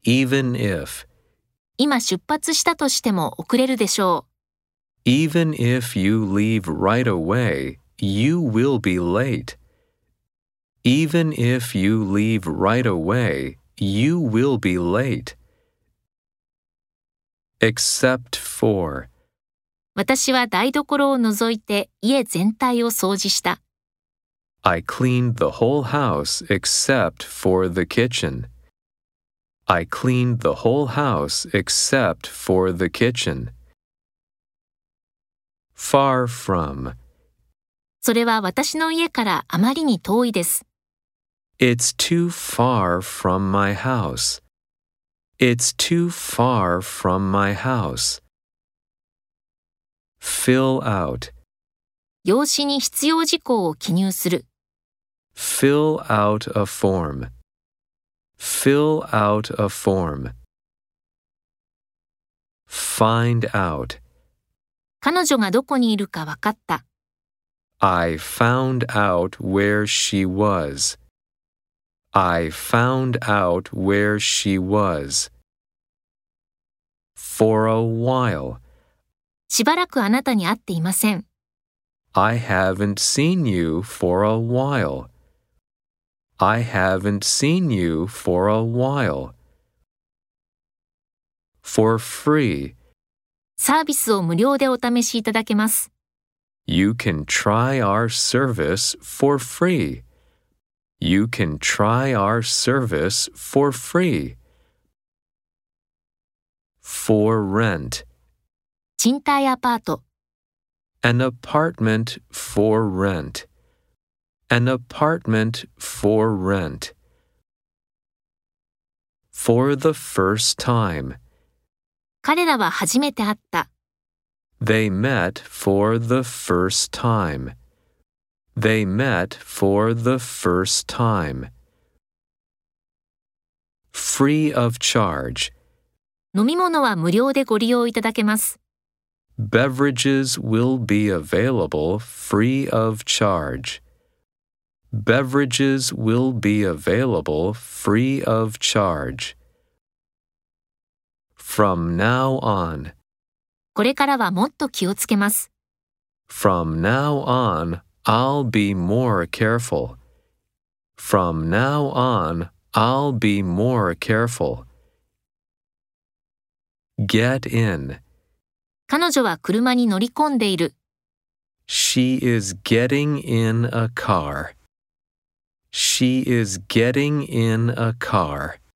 even if. 今出発したとしても遅れるでしょう。 Even if you leave right away, you will be late. Even if you leave right away, you will be late. Except for. 私は台所を除いて家全体を掃除した。 I cleaned the whole house except for the kitchen. I cleaned the whole house except for the kitchen. Far from. それは私の家からあまりに遠いです。 It's too far from my house. It's too far from my house. Fill out. 用紙に必要事項を記入する。 Fill out a form. Fill out a form. Find out. 彼女がどこにいるか分かった。 I found out where she was. I found out where she was. For a while. しばらくあなたに会っていません。 I haven't seen you for a while. I haven't seen you for a while. For free. サービスを無料でお試しいただけます。 You can try our service for free. You can try our service for free. For rent. 賃貸アパート。 An apartment for rent. An apartment for rent. For the first time. 彼らは初めて会った。 They met for the first time. They met for the first time. Free of charge. 飲み物は無料でご利用いただけます。 Beverages will be available free of charge. Beverages will be available free of charge. From now on. これからはもっと気をつけます。 From now on, I'll be more careful. From now on, I'll be more careful. Get in. 彼女は車に乗り込んでいる。 She is getting in a car. She is getting in a car.